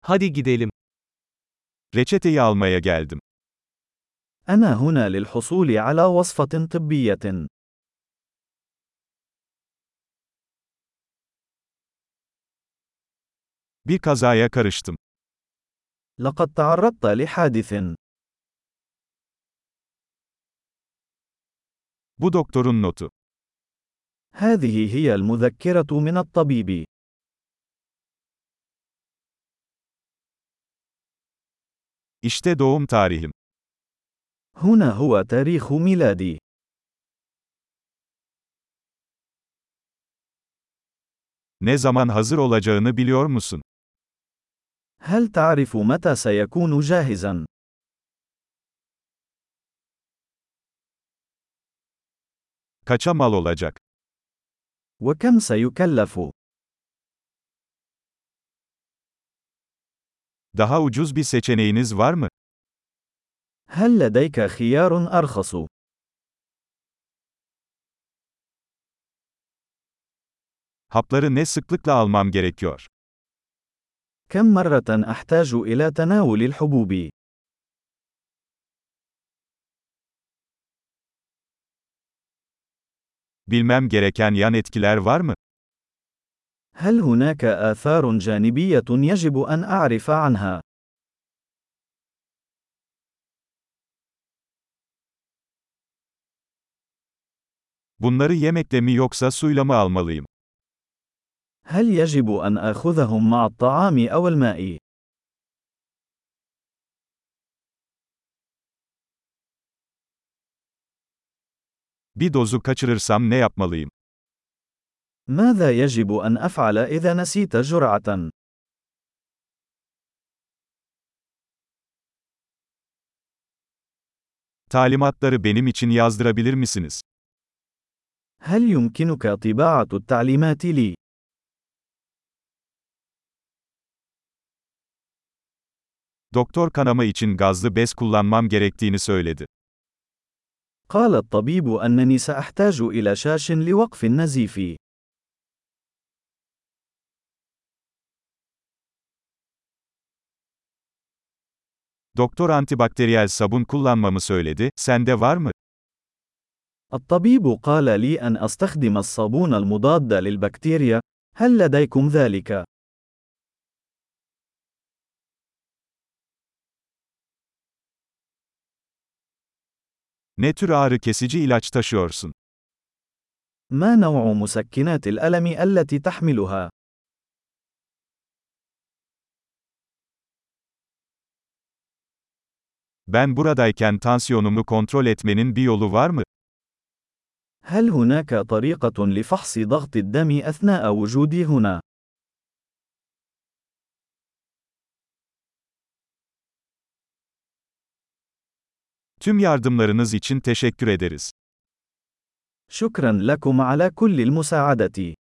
Hadi gidelim. Reçeteyi almaya geldim. أنا هنا للحصول على وصفة طبية. Bir kazaya karıştım. لقد تعرضت لحادث. Bu doktorun notu. هذه هي المذكرة من الطبيب. İşte doğum tarihim. هنا هو تاريخ ميلادي. Ne zaman hazır olacağını biliyor musun? هل تعرف متى سيكون جاهزا؟ Kaça mal olacak? وكم سيكلف؟ Daha ucuz bir seçeneğiniz var mı? هل لديك خيار أرخص؟ Hapları ne sıklıkla almam gerekiyor? كم مرة أحتاج إلى تناول الحبوب؟ Bilmem gereken yan etkiler var mı? هل هناك آثار جانبية يجب أن أعرف عنها؟ Bunları yemekle mi yoksa suyla mı almalıyım? هل يجب أن آخذهم مع الطعام أو الماء؟ Bir dozu kaçırırsam ne yapmalıyım? ماذا يجب أن أفعل إذا نسيت جرعة؟ Talimatları benim için yazdırabilir misiniz? هل يمكنك طباعة التعليمات لي؟ Doktor kanama için gazlı bez kullanmam gerektiğini söyledi. قال الطبيب أنني سأحتاج إلى شاش لوقف النزيف. Doktor antibakteriyel sabun kullanmamı söyledi, sende var mı? الطبيب قال لي أن أستخدم الصابون المضاد للبكتيريا. هل لديكم ذلك؟ Ne tür ağrı kesici ilaç taşıyorsun? ما نوع مسكنات الألم التي تحملها؟ Ben buradayken tansiyonumu kontrol etmenin bir yolu var mı? هل هناك طريقة لفحص ضغط الدم أثناء وجودي هنا؟ Tüm yardımlarınız için teşekkür ederiz. شكرا لكم على كل المساعدة.